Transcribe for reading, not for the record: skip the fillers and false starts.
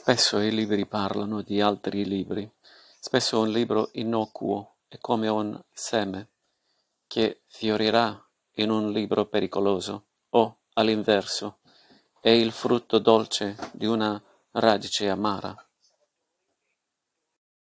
Spesso i libri parlano di altri libri. Spesso un libro innocuo è come un seme che fiorirà in un libro pericoloso, o, all'inverso, è il frutto dolce di una radice amara.